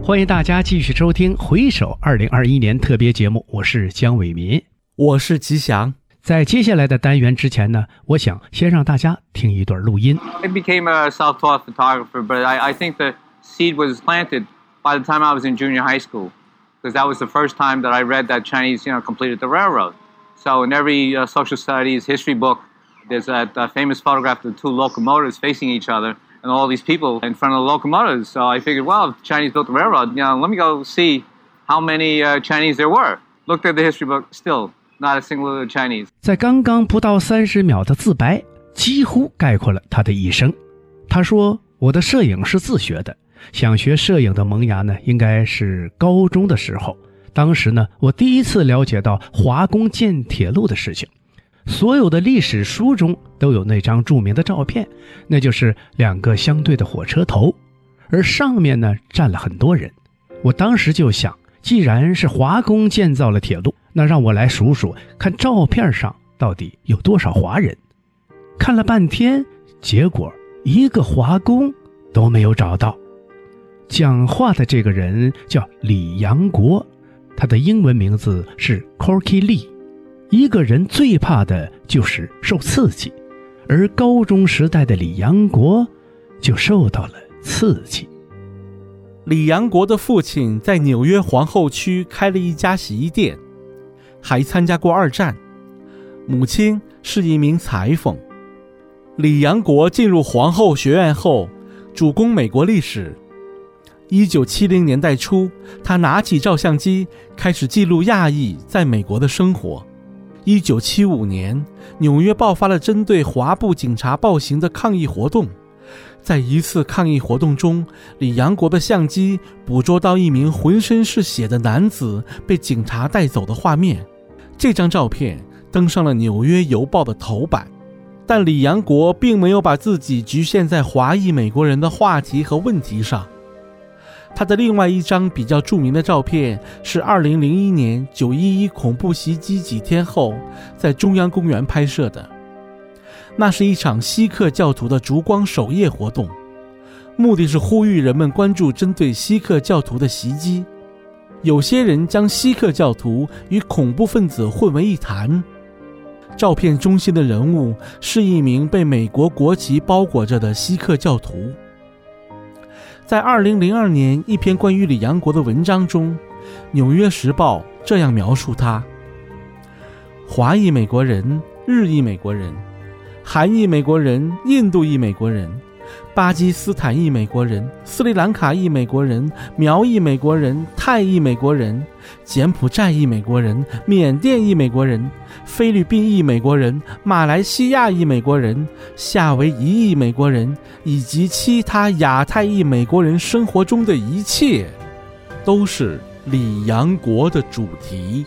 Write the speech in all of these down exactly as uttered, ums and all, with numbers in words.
欢迎大家继续收听回首二零二一年特别节目，我是姜伟民， 我是吉祥。 在接下来的单元之前呢，我想先让大家听一段录音。 I became a self-taught photographer, but I, I think the seed was planted by the time I was in junior high school, because that was the first time that I read that Chinese, you know, completed the railroad. So in every uh, social studies history book, there's that uh, famous photograph of the two locomotives facing each other, and all these people in front of the locomotives. So I figured, well, if the Chinese built the railroad, you know, let me go see how many uh, Chinese there were. Looked at the history book, still not a single Chinese. 在刚刚不到三十秒的自白，几乎概括了他的一生。他说：“我的摄影是自学的，想学摄影的萌芽呢，应该是高中的时候。当时呢，我第一次了解到华工建铁路的事情。所有的历史书中都有那张著名的照片，那就是两个相对的火车头，而上面呢站了很多人。我当时就想，既然是华工建造了铁路，那让我来数数，看照片上到底有多少华人。看了半天，结果一个华工都没有找到。讲话的这个人叫李阳国，他的英文名字是 Corky Lee。一个人最怕的就是受刺激，而高中时代的李阳国就受到了刺激。 李阳国的父亲在纽约皇后区开了一家洗衣店，还参加过二战。母亲是一名裁缝。李阳国进入皇后学院后，主攻美国历史。一九七零年代初，他拿起照相机，开始记录亚裔在美国的生活。一九七五年，纽约爆发了针对华埠警察暴行的抗议活动。在一次抗议活动中，李阳国的相机捕捉到一名浑身是血的男子被警察带走的画面。这张照片登上了纽约邮报的头版。但李阳国并没有把自己局限在华裔美国人的话题和问题上。他的另外一张比较著名的照片是二零零一年九一一恐怖袭击几天后在中央公园拍摄的。那是一场锡克教徒的烛光守夜活动，目的是呼吁人们关注针对锡克教徒的袭击。有些人将锡克教徒与恐怖分子混为一谈。照片中心的人物是一名被美国国旗包裹着的锡克教徒。在二零零二年一篇关于李阳国的文章中，《纽约时报》这样描述他：华裔美国人、日裔美国人、韩裔美国人、印度裔美国人、巴基斯坦裔美国人、斯里兰卡裔美国人、苗裔美国人、泰裔美国人、柬埔寨裔美国人、缅甸裔美国人、菲律宾裔美国人、马来西亚裔美国人、夏威夷裔美国人以及其他亚太裔美国人生活中的一切，都是李阳国的主题。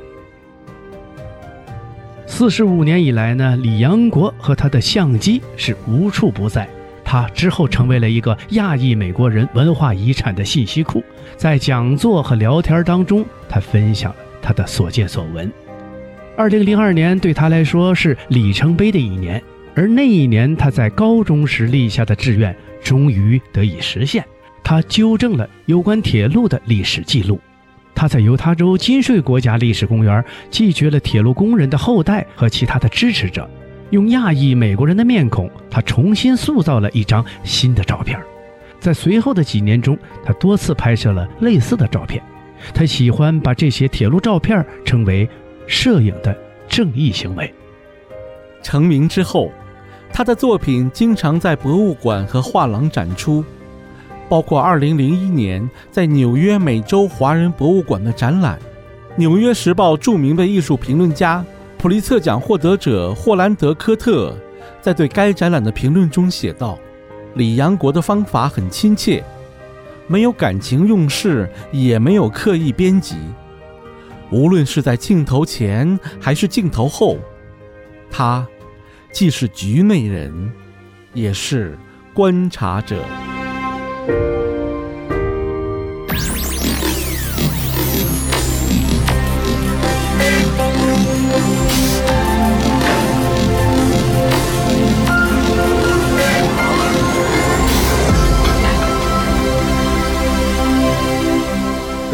四十五年以来呢，李阳国和他的相机是无处不在。他之后成为了一个亚裔美国人文化遗产的信息库，在讲座和聊天当中，他分享了他的所见所闻。二零零二年对他来说是里程碑的一年，而那一年他在高中时立下的志愿终于得以实现。他纠正了有关铁路的历史记录。他在犹他州金税国家历史公园记掘了铁路工人的后代和其他的支持者，用亚裔美国人的面孔，他重新塑造了一张新的照片。在随后的几年中，他多次拍摄了类似的照片。他喜欢把这些铁路照片称为摄影的正义行为。 成名之后，他的作品经常在博物馆和画廊展出，包括二零零一年在纽约美洲华人博物馆的展览。纽约时报著名的艺术评论家普利策奖获得者霍兰德·科特在对该展览的评论中写道：李阳国的方法很亲切，没有感情用事，也没有刻意编辑。无论是在镜头前还是镜头后，他既是局内人，也是观察者。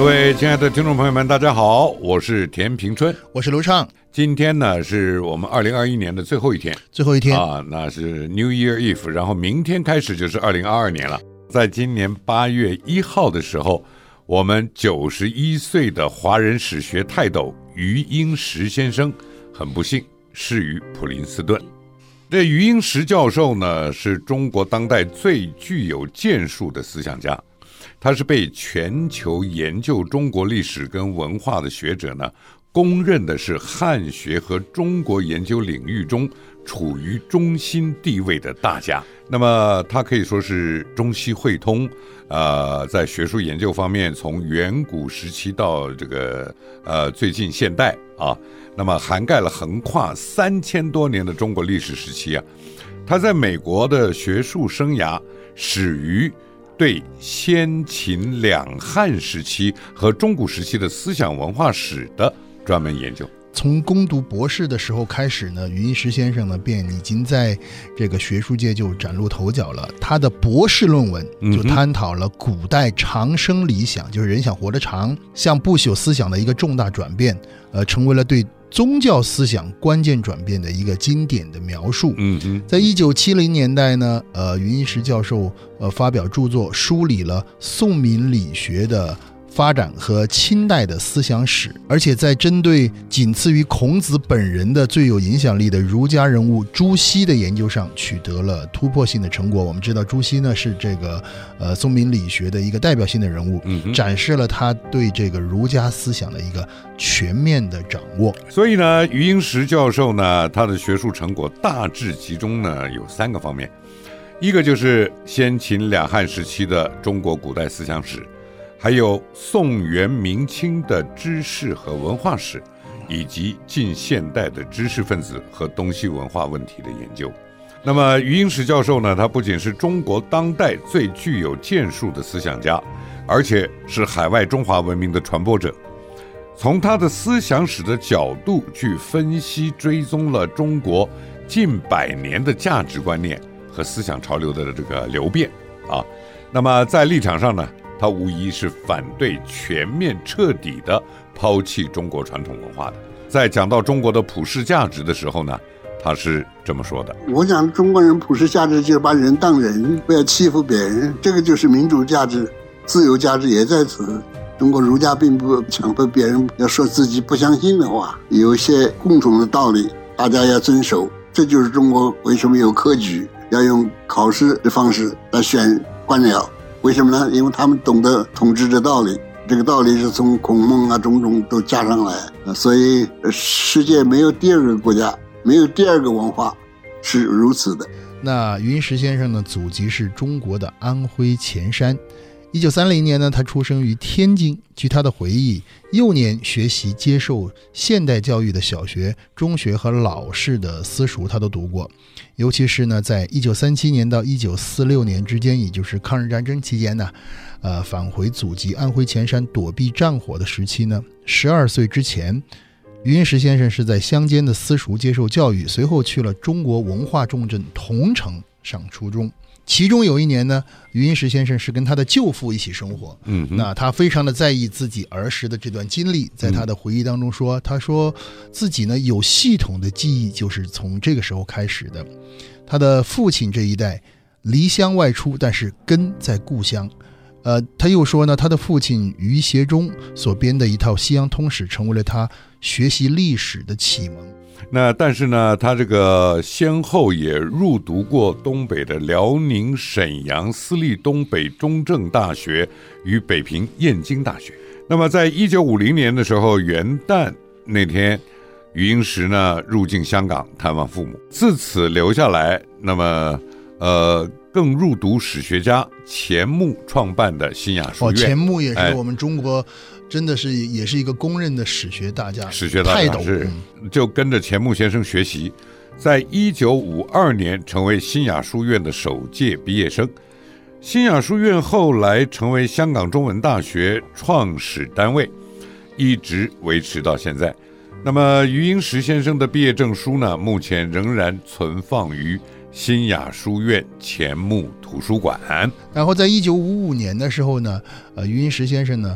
各位亲爱的听众朋友们，大家好，我是田平春， 我是卢畅。 今天呢是我们二零二一年的最后一天， 最后一天啊，那是 New Year Eve， 然后明天开始就是二零二二年了。在今年八月一号的时候，我们九十一岁的华人史学泰斗余英时先生很不幸逝于普林斯顿。这余英时教授呢，是中国当代最具有建树的思想家，他是被全球研究中国历史跟文化的学者呢，公认的是汉学和中国研究领域中处于中心地位的大家。那么他可以说是中西汇通，呃，在学术研究方面，从远古时期到这个呃最近现代啊，那么涵盖了横跨三千多年的中国历史时期啊。他在美国的学术生涯始于对先秦两汉时期和中古时期的思想文化史的专门研究。 从攻读博士的时候开始呢，余英时先生呢便已经在这个学术界就崭露头角了。他的博士论文就探讨了古代长生理想，就是人想活得长，向不朽思想的一个重大转变，呃，成为了对宗教思想关键转变的一个经典的描述。 嗯嗯， 在一九七零年代呢，呃，余英时教授呃发表著作，梳理了宋明理学的发展和清代的思想史，而且在针对仅次于孔子本人的最有影响力的儒家人物朱熹的研究上取得了突破性的成果。我们知道朱熹呢是这个呃宋明理学的一个代表性的人物，嗯，展示了他对这个儒家思想的一个全面的掌握。 所以呢，余英时教授呢，他的学术成果大致集中呢有三个方面，一个就是先秦两汉时期的中国古代思想史，还有宋元明清的知识和文化史，以及近现代的知识分子和东西文化问题的研究。那么余英时教授呢，他不仅是中国当代最具有建树的思想家，而且是海外中华文明的传播者。从他的思想史的角度去分析追踪了中国近百年的价值观念和思想潮流的这个流变啊。那么在立场上呢，他无疑是反对全面彻底的抛弃中国传统文化的。在讲到中国的普世价值的时候呢，他是这么说的： 我讲中国人普世价值就是把人当人，不要欺负别人，这个就是民主价值，自由价值也在此。中国儒家并不强迫别人要说自己不相信的话，有一些共同的道理大家要遵守，这就是中国为什么有科举，要用考试的方式来选官僚。为什么呢？因为他们懂得统治的道理，这个道理是从孔孟啊种种都加上来，所以世界没有第二个国家，没有第二个文化是如此的。 那余英时先生呢，祖籍是中国的安徽潜山。一九三零年呢，他出生于天津。据他的回忆，幼年学习接受现代教育的小学、中学和老式的私塾他都读过。尤其是呢，在一九三七年到一九四六年之间，也就是抗日战争期间呢，呃，返回祖籍安徽潜山躲避战火的时期呢，十二岁之前，余英时先生是在乡间的私塾接受教育，随后去了中国文化重镇桐城上初中。其中有一年呢，余英时先生是跟他的舅父一起生活，嗯，那他非常的在意自己儿时的这段经历，在他的回忆当中说，他说自己呢有系统的记忆就是从这个时候开始的。他的父亲这一代离乡外出，但是根在故乡。呃，他又说呢，他的父亲余协中所编的一套西洋通史成为了他学习历史的启蒙。 那但是呢，他这个先后也入读过东北的辽宁沈阳私立东北中正大学与北平燕京大学。那么在一九五零年的时候，元旦那天，余英时呢入境香港探望父母，自此留下来。那么呃更入读史学家钱穆创办的新雅书院。哦， 钱穆也是我们中国、哎真的是也是一个公认的史学大家， 史学大家是，就跟着钱穆先生学习，在一九五二年成为新雅书院的首届毕业生。新雅书院后来成为香港中文大学创始单位，一直维持到现在。那么余英时先生的毕业证书呢，目前仍然存放于新雅书院钱穆图书馆。 然后在一九五五年的时候呢，呃，余英时先生呢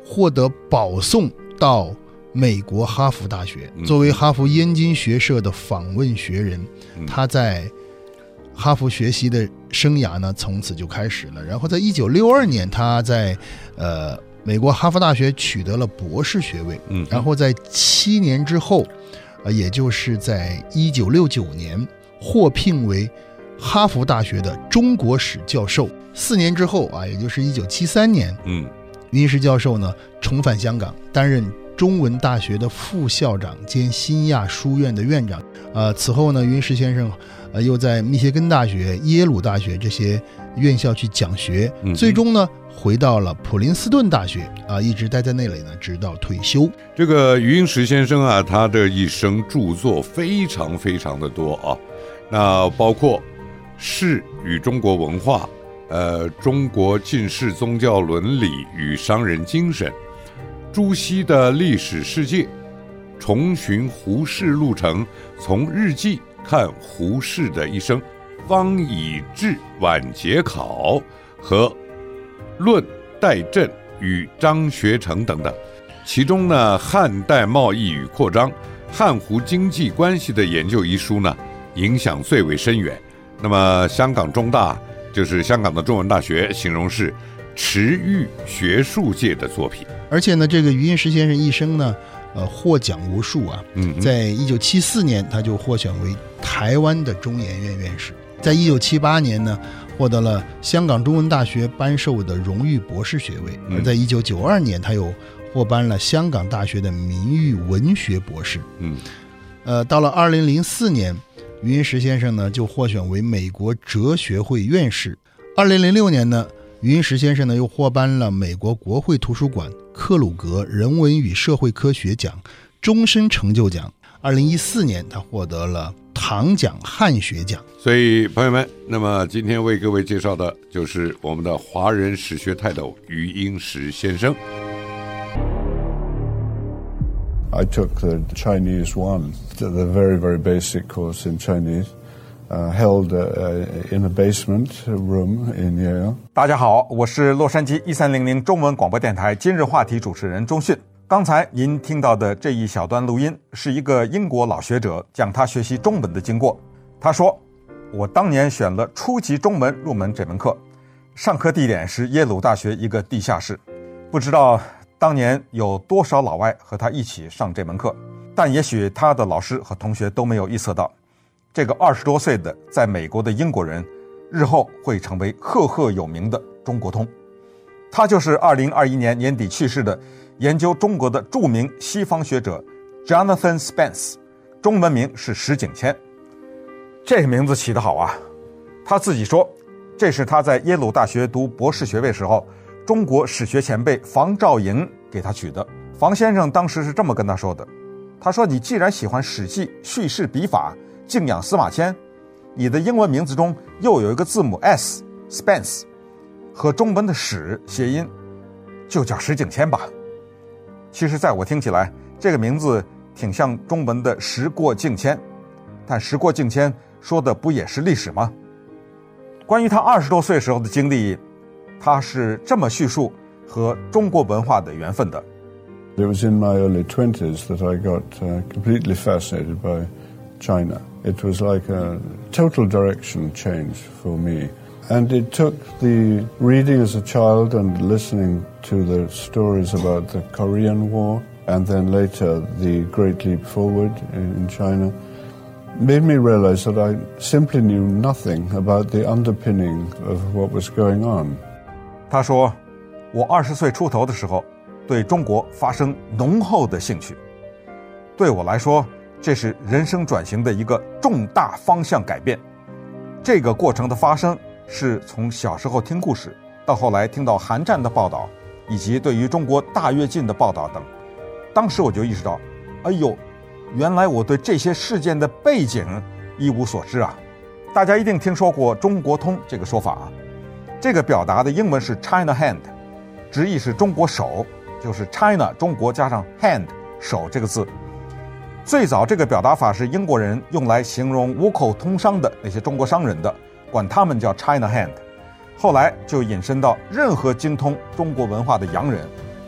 获得保送到美国哈佛大学。作为哈佛燕京学社的访问学人，他在哈佛学习的生涯呢从此就开始了。然后在一九六二年，他在呃美国哈佛大学取得了博士学位。嗯，然后在七年之后，呃，也就是在一九六九年，获聘为哈佛大学的中国史教授。四年之后啊，也就是一九七三年，嗯，余英时教授呢重返香港，担任中文大学的副校长兼新亚书院的院长。呃，此后呢，余英时先生呃又在密歇根大学、耶鲁大学这些院校去讲学，嗯、最终呢回到了普林斯顿大学啊、呃，一直待在那里呢，直到退休。 这个余英时先生啊，他的一生著作非常非常的多啊，那包括《士与中国文化》、呃，中国近世宗教伦理与商人精神、朱熹的历史世界、重寻胡适路程，从日记看胡适的一生、方以智晚节考和论戴震与张学成等等。其中呢，汉代贸易与扩张、汉胡经济关系的研究一书呢，影响最为深远。那么香港中大，就是香港的中文大学，形容是驰誉学术界的作品。 而且呢，这个余英时先生一生呢，呃，获奖无数啊。嗯，在一九七四年，他就获选为台湾的中研院院士。在一九七八年呢，获得了香港中文大学颁授的荣誉博士学位。而在一九九二年，他又获颁了香港大学的名誉文学博士。嗯，呃，到了二零零四年，余英时先生呢就获选为美国哲学会院士。二零零六年呢，余英时先生呢又获颁了美国国会图书馆克鲁格人文与社会科学奖终身成就奖。二零一四年，他获得了唐奖汉学奖。 所以朋友们，那么今天为各位介绍的就是我们的华人史学泰斗余英时先生。 I took the Chinese one, the very, very basic course in Chinese, uh, held uh, in a basement room in Yale. 大家好，我是洛杉矶一三零零中文广播电台今日话题主持人钟迅。刚才您听到的这一小段录音，是一个英国老学者讲他学习中文的经过。他说，我当年选了初级中文入门这门课，上课地点是耶鲁大学一个地下室，不知道当年有多少老外和他一起上这门课，但也许他的老师和同学都没有预测到，这个二十多岁的在美国的英国人，日后会成为赫赫有名的中国通。他就是二零二一年年底去世的研究中国的著名西方学者 Jonathan Spence， 中文名是石景谦。这名字起得好啊！他自己说，这是他在耶鲁大学读博士学位时候，中国史学前辈房兆莹给他取的。房先生当时是这么跟他说的，他说，你既然喜欢史记叙事笔法，敬仰司马迁，你的英文名字中又有一个字母 S Spence， 和中文的史谐音，就叫石景谦吧。其实在我听起来，这个名字挺像中文的时过境迁，但时过境迁说的不也是历史吗？关于他二十多岁时候的经历，他是这么叙述和中国文化的缘分的。 It was in my early twenties that I got uh, completely fascinated by China. It was like a total direction change for me. And it took the reading as a child and listening to the stories about the Korean War, and then later the Great Leap Forward in China, made me realize that I simply knew nothing about the underpinning of what was going on. 他说，我二十岁出头的时候，对中国发生浓厚的兴趣。对我来说，这是人生转型的一个重大方向改变。这个过程的发生，是从小时候听故事，到后来听到韩战的报道，以及对于中国大跃进的报道等。当时我就意识到，哎呦，原来我对这些事件的背景一无所知啊！大家一定听说过中国通这个说法啊。这个表达的英文是 China Hand， 直译是中国手，就是 China 中国加上 hand 手这个字。最早这个表达法是英国人用来形容五口通商的那些中国商人的，管他们叫 China Hand。后来就引申到任何精通中国文化的洋人，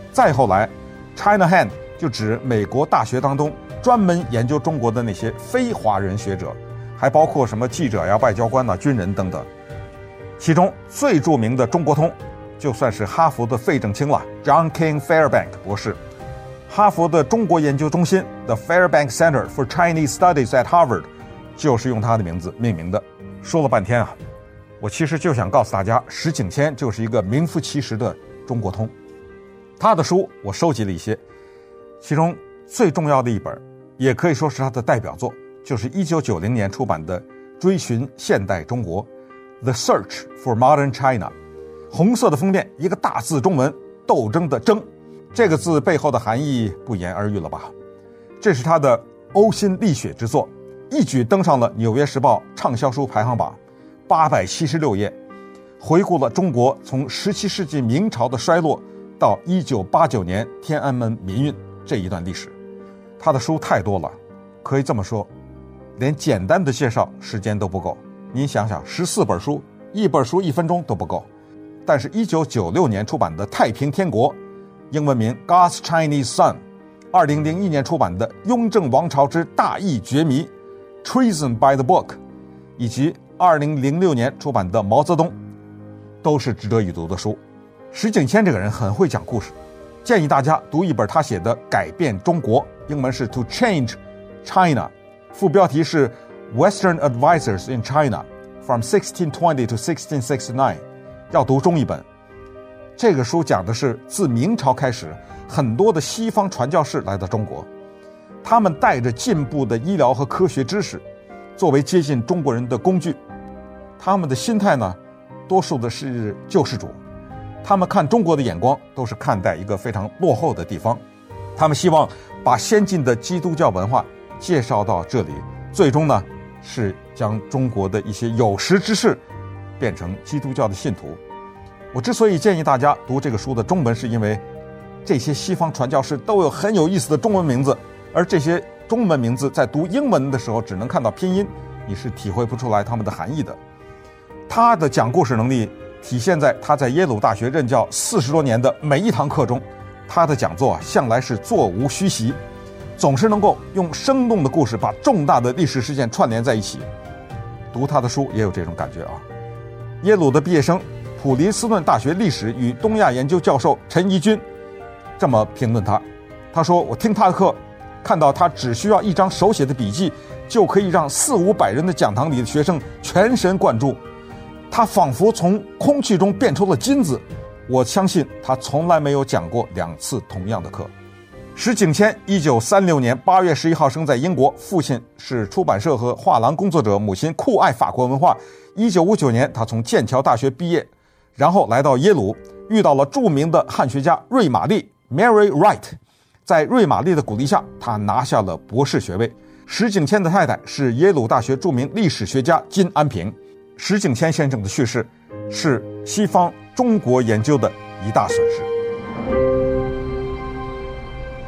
再后来 Chinahand 就指美国大学当中专门研究中国的那些非华人学者，还包括什么记者呀、外交官呐、军人等等。其中最著名的中国通就算是哈佛的费正清了， John King Fairbank 博士。哈佛的中国研究中心 The Fairbank Center for Chinese Studies at Harvard 就是用他的名字命名的。说了半天啊，我其实就想告诉大家，石景谦就是一个名副其实的中国通。他的书我收集了一些，其中最重要的一本，也可以说是他的代表作，就是一九九零年出版的《追寻现代中国》 The Search for Modern China。 红色的封面，一个大字中文斗争的争，这个字背后的含义不言而喻了吧。这是他的呕心沥血之作，一举登上了《纽约时报》畅销书排行榜，八百七十六页，回顾了中国从十七世纪明朝的衰落到一九八九年天安门民运这一段历史。他的书太多了，可以这么说，连简单的介绍时间都不够。您想想，十四本书，一本书一分钟都不够。但是一九九六年出版的《太平天国》，英文名 God's Chinese Son， 二零零一年出版的《雍正王朝之大义绝迷》 Treason by the Book， 以及二零零六年出版的《毛泽东》，都是值得一读的书。石景谦这个人很会讲故事，建议大家读一本他写的《改变中国》，英文是 To Change China， 副标题是 Western Advisors in China from sixteen twenty to sixteen sixty-nine， 要读中译本。这个书讲的是自明朝开始，很多的西方传教士来到中国，他们带着进步的医疗和科学知识作为接近中国人的工具，他们的心态呢，多数的是救世主，他们看中国的眼光都是看待一个非常落后的地方，他们希望把先进的基督教文化介绍到这里，最终呢是将中国的一些有识之士变成基督教的信徒。我之所以建议大家读这个书的中文，是因为这些西方传教士都有很有意思的中文名字，而这些中文名字在读英文的时候只能看到拼音，你是体会不出来他们的含义的。他的讲故事能力体现在他在耶鲁大学任教四十多年的每一堂课中，他的讲座向来是座无虚席，总是能够用生动的故事把重大的历史事件串联在一起。读他的书也有这种感觉啊。耶鲁的毕业生普林斯顿大学历史与东亚研究教授陈怡君这么评论他，他说，我听他的课，看到他只需要一张手写的笔记就可以让四五百人的讲堂里的学生全神贯注，他仿佛从空气中变出了金子。我相信他从来没有讲过两次同样的课。石景谦一九三六年八月十一号生在英国，父亲是出版社和画廊工作者，母亲酷爱法国文化。一九五九年他从剑桥大学毕业，然后来到耶鲁，遇到了著名的汉学家瑞玛丽 Mary Wright， 在瑞玛丽的鼓励下，他拿下了博士学位。石景谦的太太是耶鲁大学著名历史学家金安平。石景谦先生的去世是西方中国研究的一大损失。